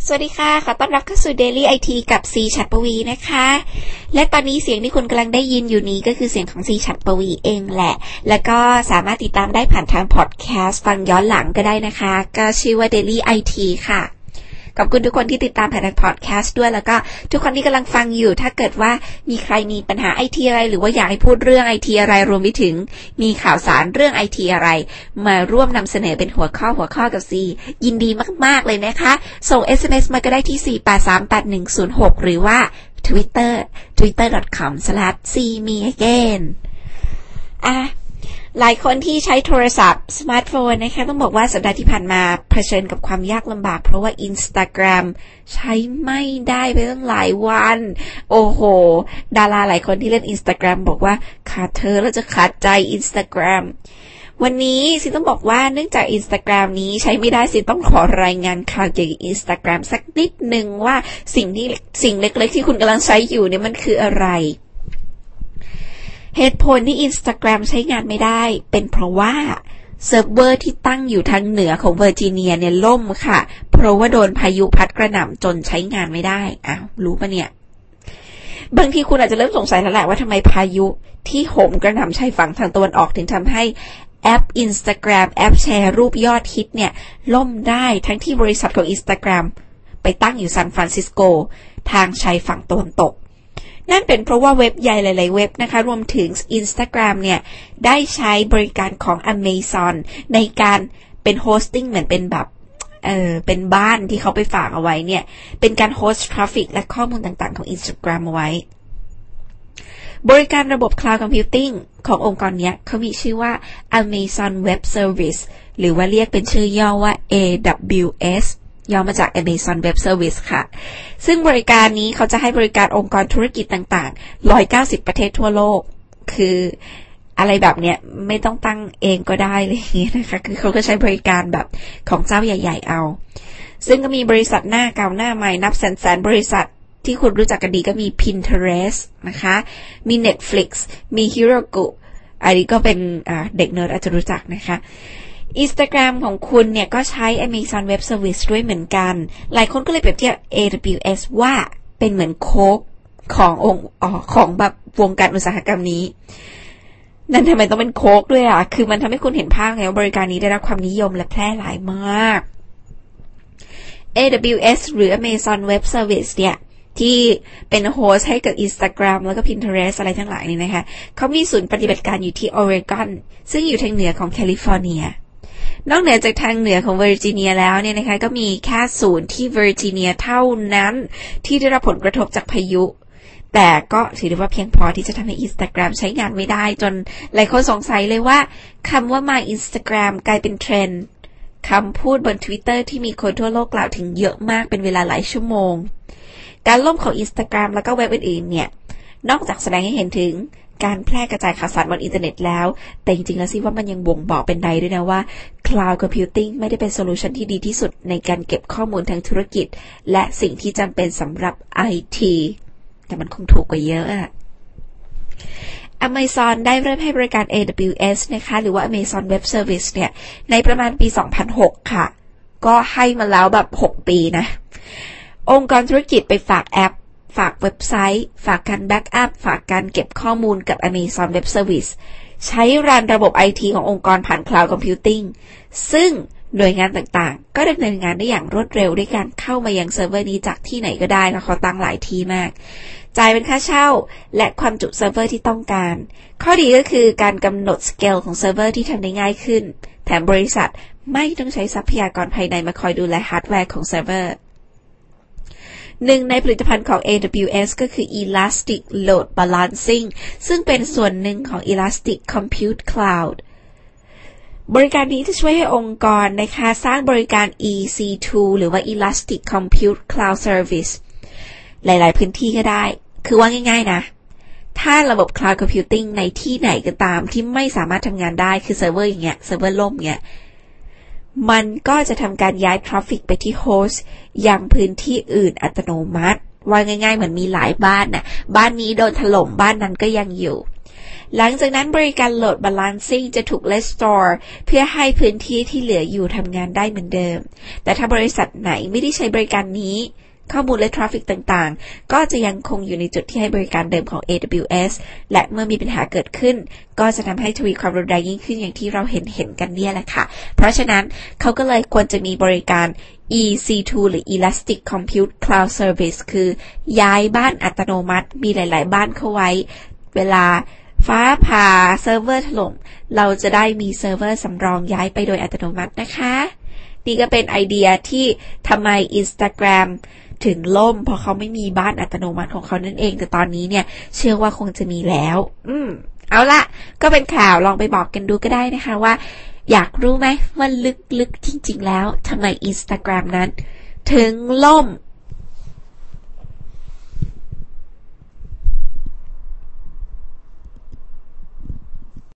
สวัสดีค่ะขอต้อนรับเข้าสู่ Daily IT กับซีฉัตรปวีนะคะและตอนนี้เสียงที่คุณกำลังได้ยินอยู่นี้ก็คือเสียงของซีฉัตรปวีเองแหละแล้วก็สามารถติดตามได้ผ่านทางพอดแคสต์ฟังย้อนหลังก็ได้นะคะก็ชื่อว่า Daily IT ค่ะขอบคุณทุกคนที่ติดตามผ่านทางพอดแคสต์ด้วยแล้วก็ทุกคนที่กำลังฟังอยู่ถ้าเกิดว่ามีใครมีปัญหา IT อะไรหรือว่าอยากให้พูดเรื่อง IT อะไรรวมไปถึงมีข่าวสารเรื่อง IT อะไรมาร่วมนำเสนอเป็นหัวข้อกับซียินดีมากๆเลยนะคะส่ง SMS มาก็ได้ที่4838106หรือว่า twitter.com/cmeagain หลายคนที่ใช้โทรศัพท์สมาร์ทโฟนนะคะต้องบอกว่าสัปดาห์ที่ผ่านมาเผชิญกับความยากลำบากเพราะว่า Instagram ใช้ไม่ได้ไปตั้งหลายวันโอ้โหดาราหลายคนที่เล่น Instagram บอกว่าขาดเธอแล้วจะขาดใจ Instagram วันนี้สิต้องบอกว่าเนื่องจาก Instagram นี้ใช้ไม่ได้สิต้องขอรายงานข่าวเกี่ยวกับ Instagram สักนิดนึงว่าสิ่งเล็กๆที่คุณกำลังใช้อยู่เนี่ยมันคืออะไรเหตุผลที่ Instagram ใช้งานไม่ได้เป็นเพราะว่าเซิร์ฟเวอร์ที่ตั้งอยู่ทางเหนือของเวอร์จิเนียเนี่ยล่มค่ะเพราะว่าโดนพายุพัดกระหน่ำจนใช้งานไม่ได้รู้ปะเนี่ยบางทีคุณอาจจะเริ่มสงสัยแล้วแหละว่าทำไมพายุที่โหมกระหน่ำชายฝั่งทางตะวันออกถึงทำให้แอป Instagram แอปแชร์รูปยอดฮิตเนี่ยล่มได้ทั้งที่บริษัทของ Instagram ไปตั้งอยู่ซานฟรานซิสโกทางชายฝั่งตะวันตกนั่นเป็นเพราะว่าเว็บใหญ่หลายๆเว็บนะคะรวมถึง Instagram เนี่ยได้ใช้บริการของ Amazon ในการเป็นโฮสติ้งเหมือนเป็นแบบเป็นบ้านที่เขาไปฝากเอาไว้เนี่ยเป็นการโฮสต์ทราฟฟิกและข้อมูลต่างๆของ Instagram เอาไว้บริการระบบ Cloud Computing ขององค์กรนี้เขามีชื่อว่า Amazon Web Service หรือว่าเรียกเป็นชื่อย่อว่า AWSย่อมาจาก Amazon Web Service ค่ะซึ่งบริการนี้เขาจะให้บริการองค์กรธุรกิจต่างๆ190ประเทศทั่วโลกคืออะไรแบบเนี้ยไม่ต้องตั้งเองก็ได้เลยอย่างเงี้ยนะคะคือเขาก็ใช้บริการแบบของเจ้าใหญ่ๆเอาซึ่งก็มีบริษัทหน้าเก่าหน้าใหม่นับแสนบริษัทที่คุณรู้จักกันดีก็มี Pinterest นะคะมี Netflix มี Heroku อันนี้ก็เป็นเด็กเนิร์ดอาจจะรู้จักนะคะInstagram ของคุณเนี่ยก็ใช้ Amazon Web Service ด้วยเหมือนกันหลายคนก็เลยเปรียบเทียบ AWS ว่าเป็นเหมือนโค้กของแบบวงการอุตสาหกรรมนี้นั่นทำไมต้องเป็นโค้กด้วยคือมันทำให้คุณเห็นภาพไงว่าบริการนี้ได้รับความนิยมและแพร่หลายมาก AWS หรือ Amazon Web Service เนี่ยที่เป็นโฮสต์ให้กับ Instagram แล้วก็ Pinterest อะไรทั้งหลายนี่นะคะเขามีศูนย์ปฏิบัติการอยู่ที่ Oregon ซึ่งอยู่ทางเหนือของแคลิฟอร์เนียนอกเหนือจากทางเหนือของเวอร์จิเนียแล้วเนี่ยนะคะก็มีแค่ศูนย์ที่เวอร์จิเนียเท่านั้นที่ได้รับผลกระทบจากพายุแต่ก็ถือได้ว่าเพียงพอที่จะทำให้ Instagram ใช้งานไม่ได้จนหลายคนสงสัยเลยว่าคำว่า My Instagram กลายเป็นเทรนด์คำพูดบน Twitter ที่มีคนทั่วโลกกล่าวถึงเยอะมากเป็นเวลาหลายชั่วโมงการล่มของ Instagram แล้วก็เว็บอื่นๆเนี่ยนอกจากแสดงให้เห็นถึงการแพร่กระจายข่าวสารบนอินเทอร์เน็ตแล้วแต่จริงๆแล้วสิว่ามันยังบ่งบอกเป็นใดด้วยนะว่า Cloud Computing ไม่ได้เป็นโซลูชันที่ดีที่สุดในการเก็บข้อมูลทางธุรกิจและสิ่งที่จำเป็นสำหรับ IT แต่มันคงถูกกว่าเยอะAmazon ได้เริ่มให้บริการ AWS นะคะหรือว่า Amazon Web Service เนี่ยในประมาณปี 2006 ค่ะก็ให้มาแล้วแบบ6ปีนะองค์กรธุรกิจไปฝากแอปฝากเว็บไซต์ฝากการแบ็กอัพฝากการเก็บข้อมูลกับ Amazon Web Service ใช้รันระบบ IT ขององค์กรผ่าน Cloud Computing ซึ่งหน่วยงานต่างๆก็ดำเนินงานได้อย่างรวดเร็วด้วยการเข้ามายังเซิร์ฟเวอร์นี้จากที่ไหนก็ได้นะเขาตั้งหลายที่มากจ่ายเป็นค่าเช่าและความจุเซิร์ฟเวอร์ที่ต้องการข้อดีก็คือการกำหนดสเกลของเซิร์ฟเวอร์ที่ทำได้ง่ายขึ้นแถมบริษัทไม่ต้องใช้ทรัพยากรภายในมาคอยดูแลฮาร์ดแวร์ของเซิร์ฟเวอร์หนึ่งในผลิตภัณฑ์ของ AWS ก็คือ Elastic Load Balancing ซึ่งเป็นส่วนหนึ่งของ Elastic Compute Cloud บริการนี้จะช่วยให้องค์กรนะคะสร้างบริการ EC2 หรือว่า Elastic Compute Cloud Service หลายๆพื้นที่ก็ได้คือว่าง่ายๆนะถ้าระบบ Cloud Computing ในที่ไหนก็ตามที่ไม่สามารถทำงานได้คือเซิร์ฟเวอร์อย่างเงี้ยเซิร์ฟเวอร์ล่มเงี้ยมันก็จะทำการย้ายทราฟฟิกไปที่โฮสต์ยังพื้นที่อื่นอัตโนมัติว่าง่ายๆเหมือนมีหลายบ้านน่ะบ้านนี้โดนถล่มบ้านนั้นก็ยังอยู่หลังจากนั้นบริการ Load Balancing จะถูก Restore เพื่อให้พื้นที่ที่เหลืออยู่ทำงานได้เหมือนเดิมแต่ถ้าบริษัทไหนไม่ได้ใช้บริการนี้ข้อมูลและทราฟฟิกต่างๆก็จะยังคงอยู่ในจุดที่ให้บริการเดิมของ AWS และเมื่อมีปัญหาเกิดขึ้นก็จะทำให้ทวีความรุนแรงยิ่งขึ้นอย่างที่เราเห็นกันเนี่ยแหละค่ะเพราะฉะนั้นเขาก็เลยควรจะมีบริการ EC2 หรือ Elastic Compute Cloud Service คือย้ายบ้านอัตโนมัติมีหลายๆบ้านเข้าไว้เวลาฟ้าผ่าเซิร์ฟเวอร์ถล่มเราจะได้มีเซิร์ฟเวอร์สำรองย้ายไปโดยอัตโนมัตินะคะนี่ก็เป็นไอเดียที่ทำไม Instagram ถึงล่มเพราะเขาไม่มีบ้านอัตโนมัติของเขานั่นเองแต่ตอนนี้เนี่ยเชื่อว่าคงจะมีแล้วเอาละก็เป็นข่าวลองไปบอกกันดูก็ได้นะคะว่าอยากรู้ไหมว่าลึกๆจริงๆแล้วทำไม Instagram นั้นถึงล่ม